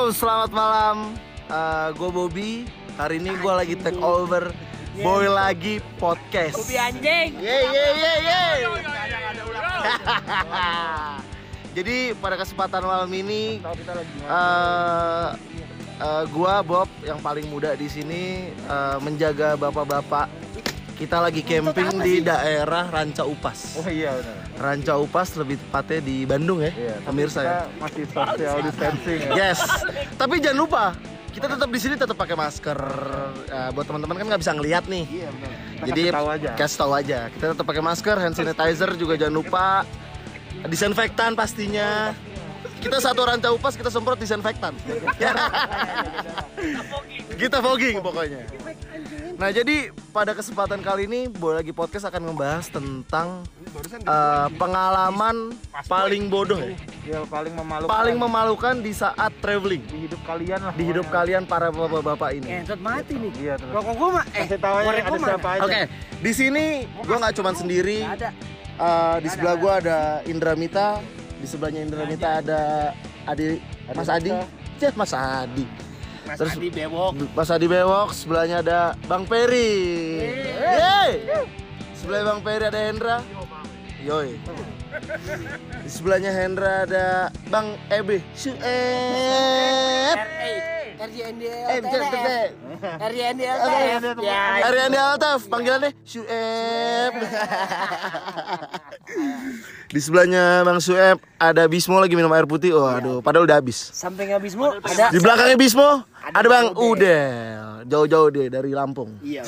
selamat malam. Gue Bobby. Hari ini gue lagi take over Boy Lagi Podcast. Bobby anjing. Jadi pada kesempatan malam ini, gue Bob yang paling muda di sini menjaga bapak-bapak. Kita lagi camping di daerah Ranca Upas. Oh iya benar. Ranca Upas lebih tepatnya di Bandung ya, pemirsa ya. Masih social distancing. Yes. Tapi jangan lupa kita tetap di sini tetap pakai masker. Buat teman-teman kan nggak bisa ngelihat nih. Iya benar. Jadi kasih tahu aja. Kita tetap pakai masker, hand sanitizer juga jangan lupa. Disinfektan pastinya. Kita satu Ranca Upas kita semprot disinfektan. Kita fogging pokoknya. Nah jadi pada kesempatan kali ini Boy Lagi Podcast akan membahas tentang pengalaman paling bodoh ya? Ya paling memalukan. Paling memalukan di saat traveling. Di hidup kalian lah. Di hidup kalian para bapak-bapak ini. Entot mati nih. Iya tuh. Rokok gua mah Kasih tahu aja ada siapa aja. Oke, di sini gua nggak cuma sendiri. ada. Di sebelah gua ada Indra Mita, di sebelahnya Indra Mita ada Mas Adi. Cek Mas Adi. Terus Adi bewok. Mas Adi Bewok, sebelahnya ada Bang Peri. Yeay. Sebelah Bang Peri ada Hendra. Yoi. Di sebelahnya Hendra ada Bang Ebe. Suep. Ariandi Altaf, panggilannya Suep. Di sebelahnya Bang Suep ada Bismo lagi minum air putih. Oh aduh, padahal udah habis. Samping habismu ada. Di belakangnya Bismo ada Bang Udel. Jauh-jauh dia dari Lampung. Iya.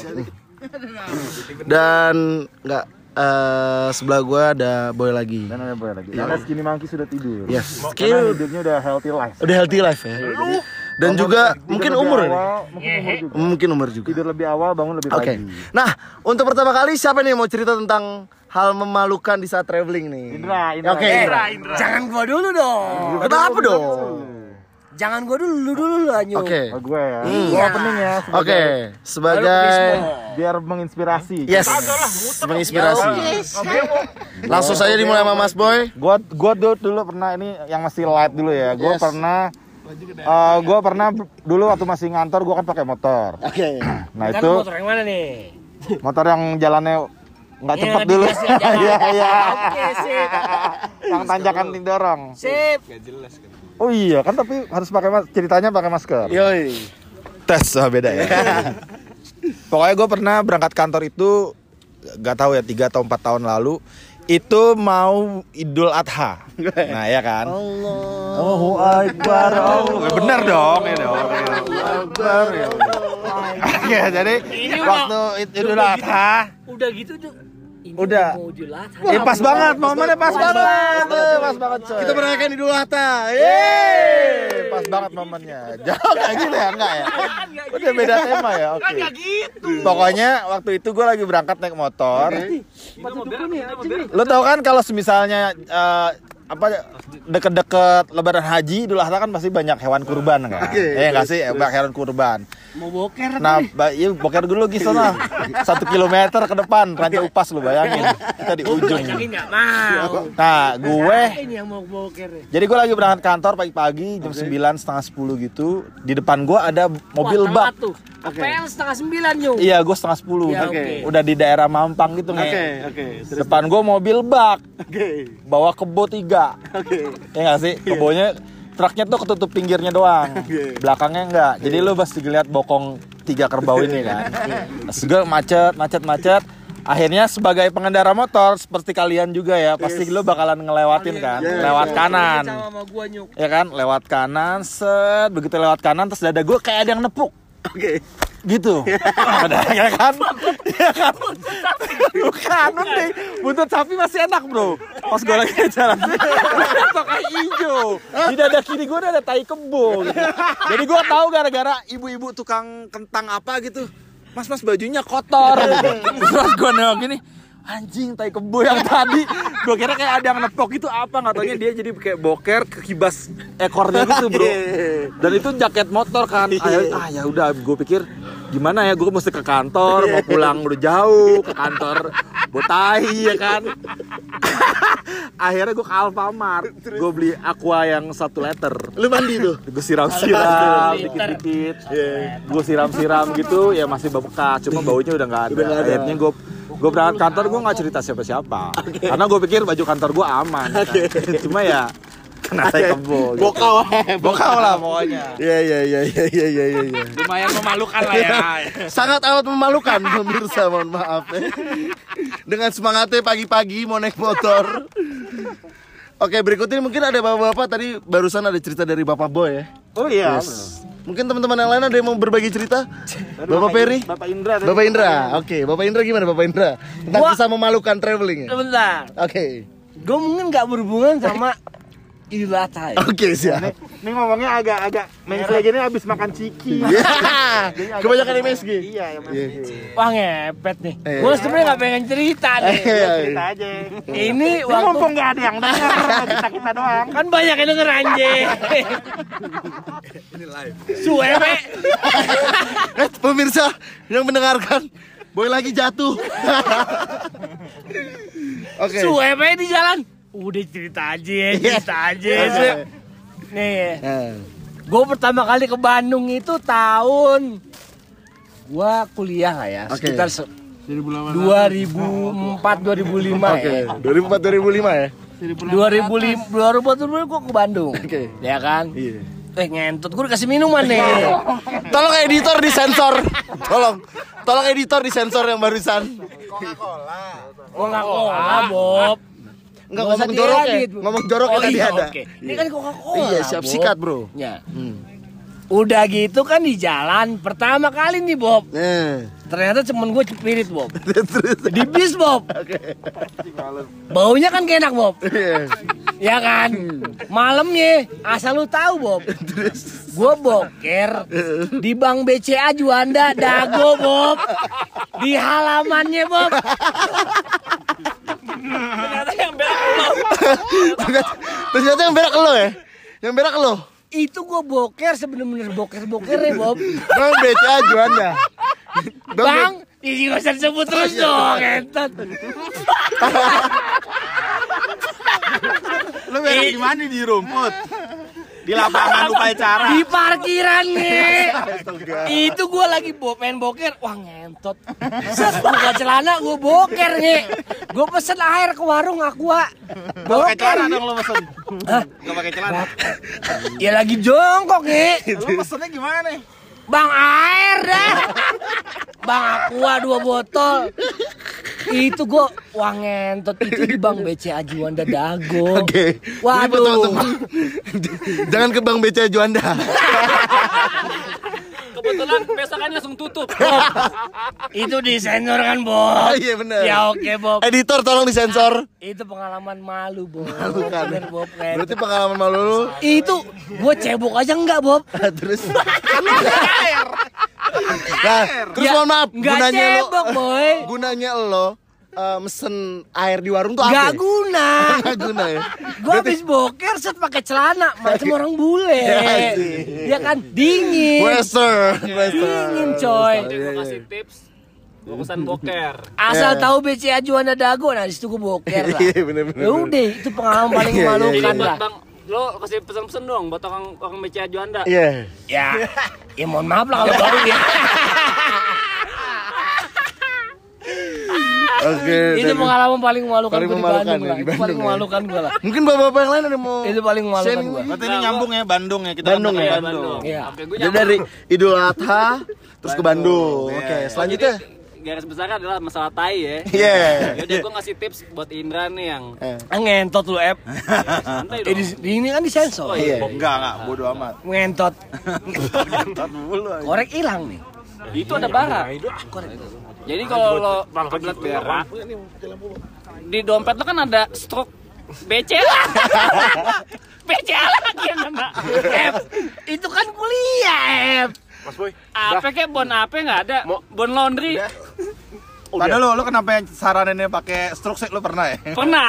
Dan enggak sebelah gua ada Boy Lagi. Dan ada Boy Lagi. Karena Skinny Monkey sudah tidur. Yes. Karena hidupnya udah healthy life. Udah healthy life ya. Dan juga mungkin umur ini. Mungkin umur juga. Tidur lebih awal, bangun lebih pagi. Oke. Nah, untuk pertama kali siapa nih yang mau cerita tentang hal memalukan di saat traveling nih? Indra. Oke, Indra. Jangan gua dulu dong. Kenapa dong? Jangan gua dulu lanjut. Oke. Gue ya. Iya. Gue opening ya. Oke, sebagai Biar menginspirasi. yes, menginspirasi. Langsung saja dimulai sama Mas Boy. Gua dulu pernah ini yang masih light dulu ya. Gua Yes. pernah dulu waktu masih ngantor gua kan pakai motor. Oke. Nah Kan itu motor yang mana nih? motor yang jalannya nggak Yang cepet dulu. dikasih aja. Iya iya. Oke, sip. Yang tanjakan didorong. Sip. Oh iya kan tapi harus ceritanya pakai masker. Yoi. Tes beda ya. Pokoknya gue pernah berangkat kantor itu nggak tahu ya 3 atau 4 tahun lalu itu mau Idul Adha. Nah ya kan. Allahu Akbar. Bener dong ya dong. Akbar ya. Oke jadi Ini waktu Idul Adha Udah gitu tuh. Ini Udah. mau julat. pas banget momennya pas banget. Pas banget coy. Kita merayakan Idul Adha. Yeay, pas banget momennya. Jauh kayak gitu ya, enggak ya? Udah beda tema ya, oke. Pokoknya waktu itu gue lagi berangkat naik motor. Lo tau kan kalau misalnya deket-deket Lebaran Haji, Idul Adha kan pasti banyak hewan kurban kan? Nggak sih, banyak hewan kurban. Mau boker. Nah, iya boker dulu Gisona. 1 kilometer ke depan, Ranca Upas lu bayangin. Kita di ujung. Enggak mau. Nah, gue Ini yang mau boker. jadi gue lagi berangkat kantor pagi-pagi jam 9 setengah 10 gitu. Di depan gue ada mobil bak. APL setengah 9 nyung. Iya, gue setengah 10. Ya, Oke. Udah di daerah Mampang gitu nih. Oke. Depan gue mobil bak. Oke. Bawa kebo 3. Ya nggak sih? Kebonya truknya tuh ketutup pinggirnya doang. Belakangnya enggak. Jadi lu pasti lihat bokong 3 kerbau ini kan. Terus gue macet. Akhirnya sebagai pengendara motor seperti kalian juga ya, pasti lu bakalan ngelewatin kan, lewat kanan. Sama gua nyuk. Ya kan, lewat kanan, set, begitu lewat kanan terus dada gue kayak ada yang nepuk. Oke. Gitu. Ada ya kan? Ya kan? Bukan, nih. Buntut sapi masih enak, Bro. Pas gue lagi jalan pakai hijau. Di dada kiri gue ada tai kebo gitu. Jadi gue tahu gara-gara ibu-ibu tukang kentang apa gitu. Mas bajunya kotor gitu. Terus gue nengok gini, anjing tai kebo yang tadi gue kira kayak ada yang nepok itu apa, nggak taunya dia jadi kayak boker kekibas ekornya gitu bro. Dan itu jaket motor kan. Ya udah gue pikir gimana ya, gue mesti ke kantor, mau pulang udah jauh, ke kantor botai ya kan. Akhirnya gue ke Alfamart, gue beli Aqua yang 1 liter. Lu mandi tuh? Gue siram-siram dikit-dikit, gue siram-siram gitu, ya masih bekas, cuma baunya udah nggak ada. Akhirnya gue berangkat kantor, gue nggak cerita siapa-siapa, karena gue pikir baju kantor gue aman. Cuma ya kena saya kebo. Bokau lah pokoknya. Iya. Lumayan memalukan lah ya. Sangat amat memalukan pemirsa, mohon maaf ya. Dengan semangatnya pagi-pagi mau naik motor. Oke, berikutnya mungkin ada bapak-bapak, tadi barusan ada cerita dari Bapak Boy ya. Oh iya. Yes. Mungkin teman-teman yang lain ada yang mau berbagi cerita? Bapak Peri? Bapak Indra. Bapak Indra. Oke, Bapak Indra gimana Bapak Indra? Tentang kisah memalukan traveling ya? Sebentar. Oke. Gue mungkin nggak berhubungan sama Idul Adha. Oke, siap. Ini ngomongnya agak mense gini abis makan ciki. Kebanyakan MSG. Iya, Wah ngepet nih. Gue sebenarnya nggak pengen cerita nih. cerita aja. Ini waktu Mumpung nggak ada yang denger, kita doang. kan banyak yang denger anjing. Ini live. Suwe. Pemirsa yang mendengarkan, Boy lagi jatuh. Oke. Suwe di jalan. Udah cerita aja. Nih, gue pertama kali ke Bandung itu tahun gue kuliah lah ya, Oke. sekitar 2004-2005 ya. 2004-2005 ya? 2004 gue ke Bandung. Oke. Ya kan? Iya. Ngentot gue dikasih minuman nih. Tolong editor disensor. Tolong editor disensor yang barusan. Gue nggak Coca-Cola, Bob. Enggak Nggak usah ngomong jorok ya. diedit, Bu. Ngomong jorok Oh, tadi iya, ada. oke. Ini kan Coca-Cola. Iya, siap Bob. sikat, Bro. Ya. Udah gitu kan di jalan pertama kali nih Bob. Ternyata temen gue cepirit Bob. Di bis Bob. Baunya kan gak enak Bob. Ya kan. Malamnya asal lu tahu Bob. Gue boker di Bank BCA Juanda Dago Bob. Di halamannya Bob. Ternyata yang berak lo. Ternyata yang berak lo ya? Yang berak lo? Itu gue boker sebener-bener boker ya Bob. Bang BCA Juanda. Bang, ini gak usah disebut terus dong, entot. Lu berak di mana, di rumput? Di lapangan upacara. Di parkiran nih. Itu gue lagi pengen boker. Wah ngentot. Set buka celana gue boker nih. Gue pesen air ke warung Aqua. Pakai celana Boker. dong lo pesen. Hah? Gak pakai celana. Ya lagi jongkok nih. Lu pesennya gimana? Bang air dah. Bang Aqua 2 botol. Itu gue wah ngentot itu di Bank BCA Juanda Dago. Oke. Waduh. Ini buat teman-teman. Jangan ke Bang BCA Juanda. Kebetulan besokannya langsung tutup. Bob. Itu disensor kan, Bob? Oh, iya benar. Ya oke, Bob. Editor tolong disensor. Itu pengalaman malu, Bob. Malu kan? Bener, Bob. Berarti pengalaman malu lu. Itu gue cebok aja enggak, Bob? Terus Nah, terus Ya, mohon maaf, nggak gunanya cebok, lo, boy. gunanya lo mesen air di warung tuh Enggak apa? guna. Nggak guna ya. Gue habis boker set pakai celana macam orang bule. Ya, Ya kan dingin. Western. Dingin, coy. Gue kasih tips, gue pesan boker. Asal tahu BCA Juanda Dago, nah disitu gue boker lah. Iya, bener-bener. Ya udah, itu pengalaman paling Iya, iya, memalukan Buat lah. bang, lo kasih pesan-pesan dong buat orang BCA Juanda. Iya. Ya mohon maaf lah kalau baru ya. Oke. Itu dan- pengalaman paling memalukan Paling gue di memalukan Bandung ya, lah. di Itu paling Bandung ya. memalukan gue lah. Mungkin bapak-bapak yang lain ada mau Itu paling memalukan sharing gue. Berarti ini nyambung ya Bandung ya, kita Bandung kan ya? ke Bandung. Iya. Oke, gue Jadi dari Idul Adha terus ke Bandung. Iya, Oke, iya. selanjutnya. garis besarnya adalah masalah tai ya. Iya. Yaudah gue ngasih tips buat Indra nih yang Ngentot lu, Ep. santai Eh, dong. di ini kan disensor. Oh, iya. Enggak, bodo amat. Ngentot. Ngentot mulu aja. Korek hilang nih. Itu ada bara. Jadi kalau lo kebelet berak, di dompet lo kan ada stroke BCA. BCA lagi yang kena. Ep, itu kan kuliah, Ep. Mas Boy. Apa kayak bon apa nggak ada? Bon laundry. Padahal lo kenapa yang saraninnya pakai stroke lo pernah ya? Pernah.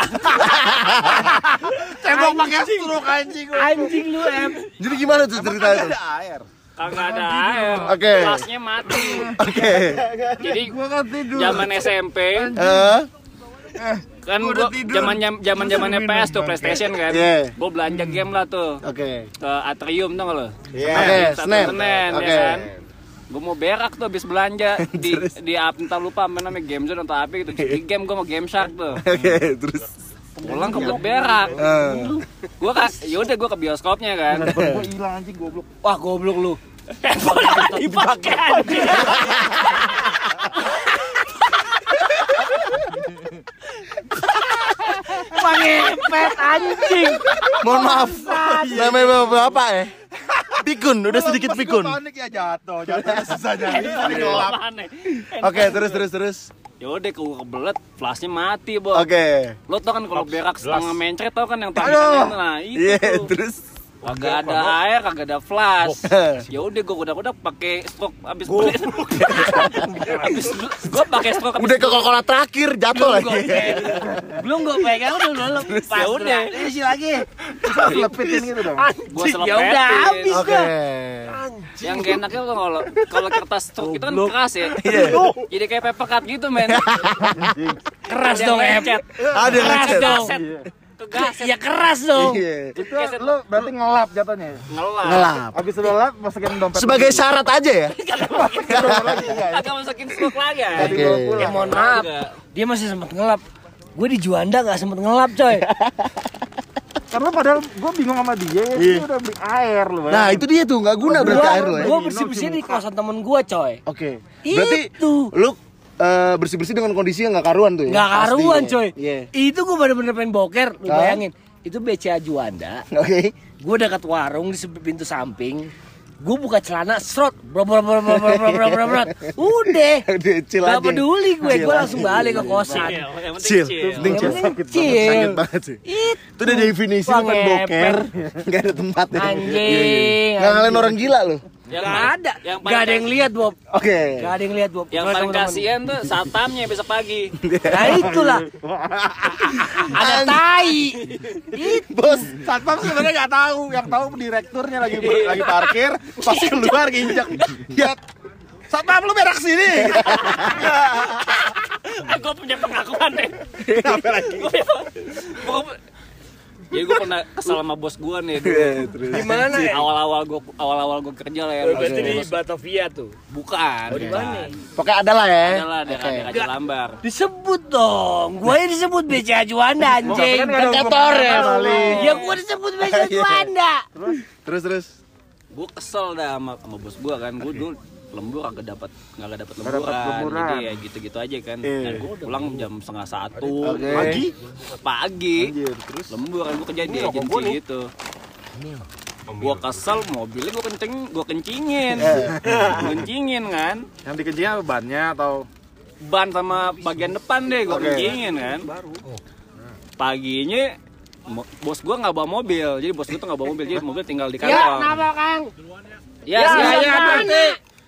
Tembok pakai stroke anjing. Anjing lu, Ep. Jadi gimana tuh ceritanya tuh? Ada air. Kagak ada air. Oke. Kelasnya mati. Oke. Jadi zaman SMP Kan gua zamannya PS tuh PlayStation kan. Gua belanja game lah tuh. Oke. Ke Atrium tuh lo. Oke, Senen. Ya Oke. kan. Gue mau berak tuh habis belanja di entah lupa apa namanya Game Zone atau apa gitu. Di game gue mau Game Shark tuh. Oke, terus Pulang ke berak. Gua yaudah gue ke bioskopnya kan. Gue hilang anjing goblok. Wah, goblok lu. Dipakai anjing. Pangepet anjing. mohon maaf. Namanya Bapak ya? Pikun, udah sedikit pikun. Panik ya jatuh susah jadi. Oke, terus. Ya udah kebelet, flashnya mati, Bos. Oke. Lo tau kan kalau berak setengah mencret tau kan yang tangannya nah itu. Iya, terus Kagak ada air, kagak ada flash. Ya udah gue udah pakai stroke abis beli. Abis gue pakai stroke abis udah ke Coca-Cola terakhir jatuh lagi. Belum gue pegang udah lepas. Ya udah. Isi lagi. Lepitin gitu dong. Gue Ya udah habis Oke. dah. Yang gak enaknya tuh kalau kertas stroke itu kan keras ya. Iya. Jadi kayak paper cut gitu, men. Keras Ada dong, yang Em. lecet. Ada yang Keras lecet. dong. Kegaset. Ya keras dong. Iya. Itu lu berarti ngelap jatuhnya. Ngelap. Habis lu lap masukin dompet. Sebagai syarat aja ya. Kagak masukin stroke lagi ya. Oke. Ya mohon maaf. Dia masih sempat ngelap. Gue di Juanda gak sempet ngelap, coy. Karena padahal gue bingung sama dia, dia udah beli air lu. Nah, itu dia tuh nggak guna berarti air lo ya. Gue bersih-bersih di kosan temen gue, coy. Oke. Berarti Itu. lu bersih-bersih dengan kondisi yang nggak karuan tuh ya. Gak karuan, Pasti, coy. Iya. Itu gue bener-bener pengen boker. Lu Hah? bayangin. Itu BCA Juanda. Oke. Gue dekat warung di pintu samping. Gue buka celana, serot, udah, Udah chill aja. gak peduli gue Chill langsung aja. balik ke kosan. Yang penting Chill. chill. Penting chill. Yang penting Sakit chill. banget sih. Itu udah definisi bukan Ngepet. boker. Gak ada tempat ya. Anjing, Nggak ngalahin anjing. orang gila lu. Yang Gak paling- ada, yang gak ada yang lihat, Bob. Oke. Gak ada yang lihat, Bob. Yang Gua paling teman-teman. kasihan tuh satpamnya besok pagi. Nah itulah. Ada tai. Bos, satpam sebenarnya nggak tahu, yang tahu direkturnya lagi parkir, pas keluar nginjek. Ya, satpam lu berak sini. Gue punya pengakuan deh. Apa lagi? Jadi gue pernah kesal sama bos gue nih dulu. Terus. Gimana ya? Awal-awal gue kerja lah ya. Berarti di Batavia tuh. Bukan. Di mana? Pokoknya ada lah ya. Adalah daerah Raja Lambar. Disebut dong. Gue disebut BCA Juanda anjing. Kantor ya. Ya gue disebut BCA Juanda. Terus. Gue kesel dah sama bos gue kan. Gue dulu lembur nggak dapet lemburan. Jadi ya gitu-gitu aja kan. Dan gue pulang jam 1:30 pagi. Anjir, terus. Lembur kan gue kerja di agensi gitu. Gue kesel, mobilnya gue kencingin kan. Yang dikencingnya bannya atau Ban sama bagian depan deh gue kencingin kan. Paginya bos gue nggak bawa mobil, jadi bos gue tuh nggak bawa mobil, jadi mobil tinggal di kantor. Ya, kenapa Kang? Ya, berarti.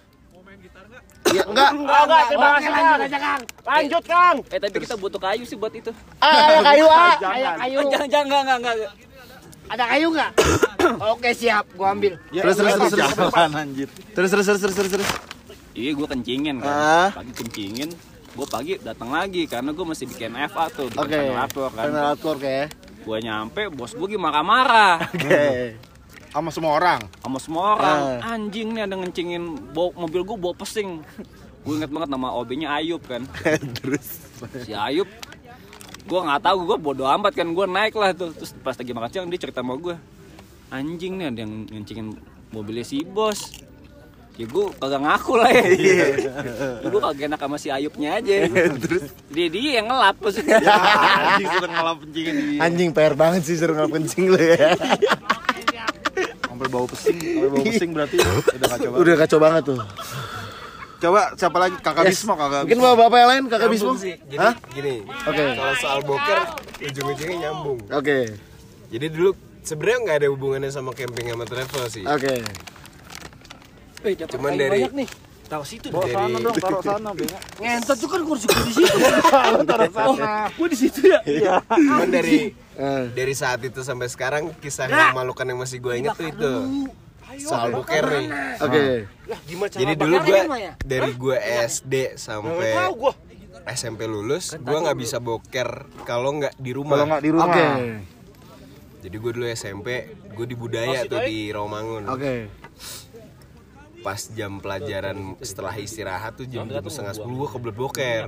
Ya enggak. Terima kasih lanjut aja Kang. Lanjut Kang. Tapi kita butuh kayu sih buat itu. Ada kayu ah. Kayu. Jangan, enggak. Ada kayu nggak? Oke siap, gua ambil. Terus. anjir. Terus. Iya, gue kencingin Ah. kan. Pagi kencingin, gue pagi datang lagi karena gue masih bikin FA tuh, bikin Oke. ventilator kan. Ventilator kayak. Gue nyampe, bos gue marah-marah Oke. Sama semua orang. sama semua orang. Anjing nih ada ngencingin mobil gue bawa pesing. Gue inget banget nama OB-nya Ayub kan. Terus. Si Ayub, gue nggak tahu, gue bodo amat kan, gue naik lah tuh. Terus pas lagi makan siang dia cerita sama gue, anjing nih ada yang ngencingin mobilnya si bos. Ya gue kagak ngaku lah ya. Gue kagak enak sama si Ayubnya aja. Terus. Dia yang ngelap maksudnya. Anjing sudah ngelap kencingin dia. Anjing PR banget sih suruh ngelap kencing lu ya. Sampai bau pesing berarti udah kacau banget. Udah kacau banget tuh. Coba siapa lagi? Kakak Yes. Bismo, kakak. Mungkin bapak yang lain, kakak Bismo? Sih. Jadi Hah? gini, Oke. kalau soal boker ujung-ujungnya nyambung. Oke. Jadi dulu sebenarnya nggak ada hubungannya sama camping sama travel sih. Oke. Cuman dari Tahu situ. Bawa sana dong, taruh sana, bengak. Ngentot tuh kan kursi gue di situ. Taruh sana. Gue di situ ya. Iya. cuman Eh. dari saat itu sampai sekarang kisah yang memalukan yang masih gue inget tuh itu soal boker nih. Oke. Jadi dulu gue dari gue SD sampai SMP lulus, gue nggak bisa boker kalau nggak di rumah. Kalau nggak di rumah. Oke. Jadi gue dulu SMP, gue di Budaya tuh di Rawamangun. Oke. Pas jam pelajaran setelah istirahat tuh jam 9:30 gue kebelet boker.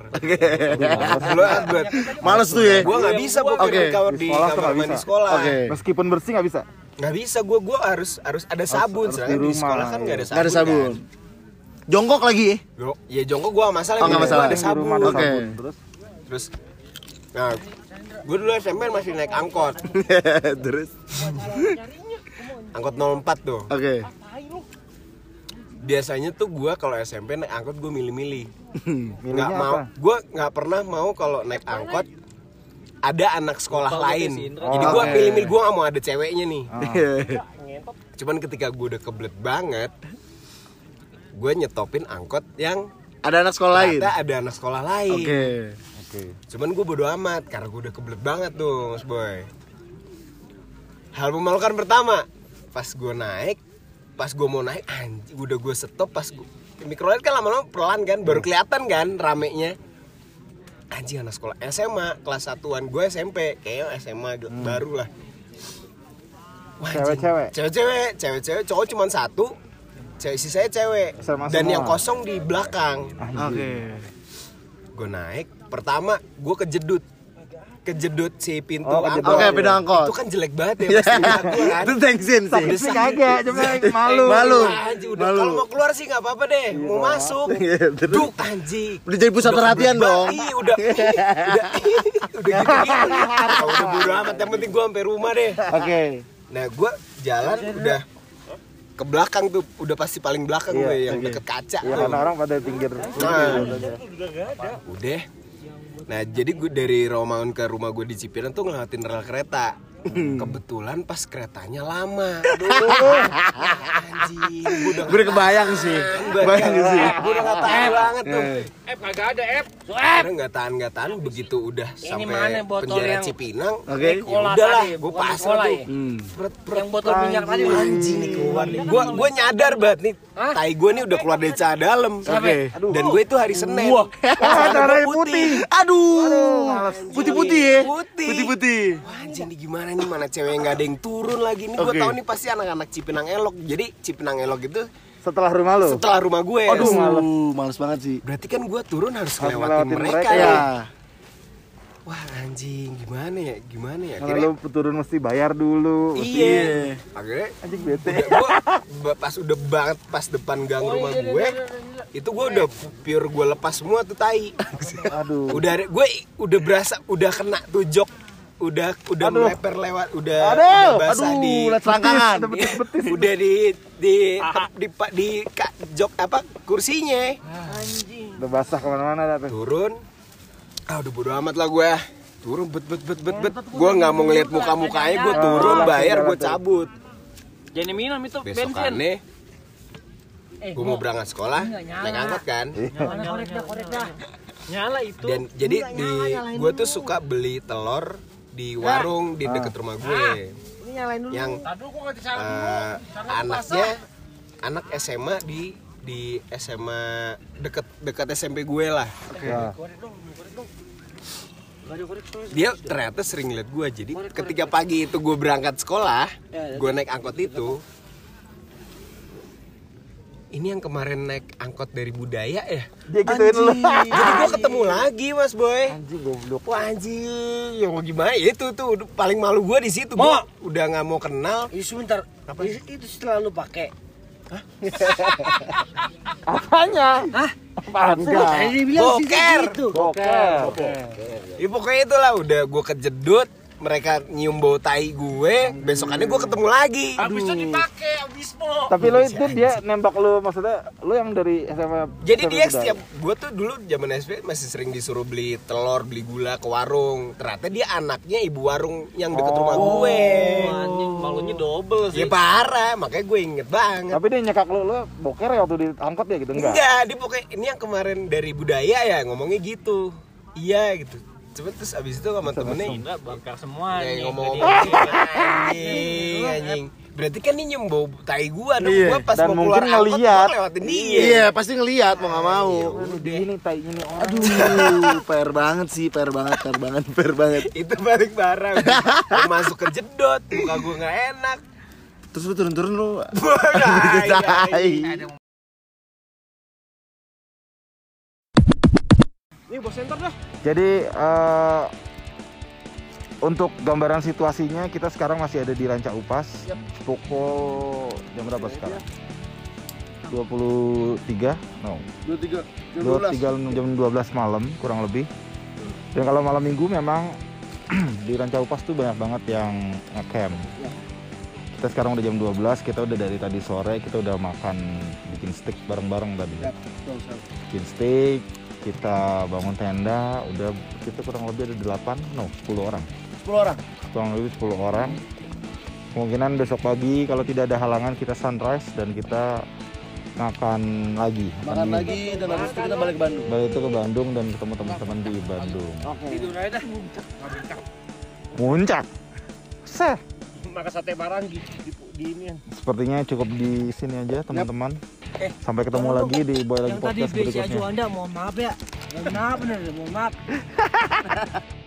Males tuh ya. Gue nggak bisa boker Oke. di kamar Di sekolah tuh kamar nggak mandi bisa. sekolah. Oke. Meskipun bersih nggak bisa. Nggak bisa, gue harus ada sabun. harus Sedangkan di di rumah. sekolah kan nggak ada sabun. Nggak ada sabun. Jongkok lagi ya? Kan? Ya jongkok gue masalah. Oh, nggak masalah. Ada Di rumah sabun. ada Oke. sabun. Terus, nah, gue dulu SMP masih naik angkot. Terus. Angkot 04 tuh. Oke. Biasanya tuh gue kalau SMP naik angkot gue milih-milih. Nggak Milihnya mau, apa? gue nggak pernah mau kalau naik angkot ada anak sekolah lain. Jadi gue Oke. milih-milih, gue nggak mau ada ceweknya nih. Ah. Cuman ketika gue udah kebelet banget, gue nyetopin angkot yang Ada anak sekolah lain. ternyata ada anak sekolah lain. Oke. Oke. Cuman gue bodo amat karena gue udah kebelet banget tuh, Mas Boy. Hal memalukan pertama, pas gue mau naik, anjing udah gue stop pas gue mikrolet kan lama-lama pelan kan, baru kelihatan kan ramenya. Anjing anak sekolah SMA kelas 1-an, gue SMP, kayaknya SMA baru lah. Wah, anjing. Cewek-cewek, cowok cuma satu, sisanya cewek. Sama Dan semua. yang kosong di belakang. Oke. Gue naik, pertama gue kejedut si pintu Oh, kejedut. angkot. Oke, pintu angkot. Itu kan jelek banget ya pasti gue kan. Itu thanksin sih. Tapi kagak, cuma malu. Malu. Anjing, udah Malu. kalau mau keluar sih nggak apa-apa deh, mau masuk. Iya, terus? Duk anjing. Udah jadi pusat Udah perhatian kebelet dong. banget. Iya, udah gitu. Udah bodo amat, yang penting gue sampai rumah deh. Oke. Nah, gue jalan udah ke belakang tuh, udah pasti paling belakang Iya, gue yang deket kaca Ya tuh. karena orang pada pinggir. Udah. Nah, jadi gue dari Rawamangun ke rumah gue di Cipinang tuh ngelewatin rel kereta. Kebetulan pas keretanya lama. Aduh. Anjing, gue Gue udah kebayang sih. Kebayang sih. Gue udah gak tahan banget tuh. Kagak ada Karena gak tahan begitu udah sampai mana botol penjara yang- Cipinang. Oke. Ya udahlah, gue bukan pasrah cola tuh. ya? Pret, Yang botol minyak tadi. anjing nih keluar nih. Gue nyadar banget nih, tai gue nih udah keluar dari celana dalam. Oke. Dan gue itu hari Senin. darahnya putih. Aduh. Putih-putih ya. Putih. Putih-putih. Wah, anjing nih gimana nih, mana cewek yang gak ada yang turun lagi nih. Gue Oke. tahu nih pasti anak-anak Cipinang Elok. Jadi Cipinang Elok itu Setelah rumah lu. setelah rumah gue. Aduh, males banget sih. Berarti kan gue turun harus Harus ngelewatin ngelewatin mereka mereka. ya. Ya. Wah anjing, gimana ya? Kalau Akhirnya, lu turun mesti bayar dulu. iya. Akhirnya Anjing bete. pas udah banget pas depan gang rumah gue, itu gue udah pure gue lepas semua tuh tai. Aduh. Gue udah berasa udah kena tuh jok, udah meleper lewat, udah basah di lihat selangkangan. Ada betis-betis. udah di jok apa kursinya. Udah basah kemana-mana dah tuh. Turun, udah bodo amat lah gue. Turun bet. Gue nggak mau ngeliat muka-mukanya, gue turun bayar, gue cabut. Jangan minum itu bensin. Besokannya gue mau berangkat sekolah, naik angkot kan. Korek dah. Nyala itu. Dan jadi gue tuh suka beli telur di warung di deket rumah gue. Yang anak SMA di SMA deket SMP gue lah. Ya. Dia ternyata sering lihat gue. Jadi ketika pagi itu gue berangkat sekolah, gue naik angkot itu. Ini yang kemarin naik angkot dari Budaya ya. Dia gituin lu. Jadi gue ketemu lagi Mas Boy. Anjing goblok. Wah anjing, yang mau gimana? Ya itu tuh paling malu gue di situ. Gue udah nggak mau kenal. Sebentar. Itu setelah lu pakai. Apanya? Hah? Apaan sih? Tadi bilang Boker. gitu. Boker. Ya pokoknya itulah udah gue kejedut. Mereka nyium bau tai gue. Besokannya gue ketemu lagi. Habisnya dipakai, habis mau. Tapi lo itu dia nembak lu, maksudnya lu yang dari SMA. Jadi SMP dia udah? setiap gue tuh dulu zaman SP masih sering disuruh beli telur, beli gula ke warung. Ternyata dia anaknya ibu warung yang deket rumah gue. Anjing, malunya double Ya parah, makanya gue inget banget. Tapi dia nyekak lu boker ya waktu di angkot ya gitu enggak? Enggak, dia pokoknya ini yang kemarin dari Budaya ya ngomongnya gitu. Iya gitu. Cuma terus abis itu sama temennya Enggak, bangkar semua kayak nih. ngomong-ngomong anjing. Berarti kan ini nyium bau tai gua dong. Iya. Gua pas Dan mau mungkin keluar angkot ngeliat. gua lewatin dia. Iya, pasti ngelihat mau nggak mau. Ini tainya nih orang. Aduh, PR banget sih, PR banget. Itu balik barang. Gua masuk ke jedot, muka gua nggak enak. Terus lu turun-turun lu. Tai. Nih bos center dah. Jadi untuk gambaran situasinya kita sekarang masih ada di Ranca Upas. Pukul jam berapa sekarang? 23? No. 23 jam 12 malam kurang lebih. Dan kalau malam minggu memang di Ranca Upas tuh banyak banget yang ngecamp. Kita sekarang udah jam 12, kita udah dari tadi sore kita udah makan bikin steak bareng-bareng tadi. Bikin steak, kita bangun tenda, udah kita kurang lebih ada 10 orang. 10 orang. Kurang lebih 10 orang. Kemungkinan besok pagi kalau tidak ada halangan kita sunrise dan kita makan lagi. Makan lagi dan habis itu kita balik ke Bandung. Balik itu ke Bandung dan ketemu teman-teman di Bandung. Tidur aja dah. Muncak. Seh. Makan sate Marangi di ini. Sepertinya cukup di sini aja teman-teman. Sampai ketemu lagi di Boy Lagi Yang tadi Podcast BC berikutnya. Anda mohon maaf ya. Mohon maaf bener, mohon maaf.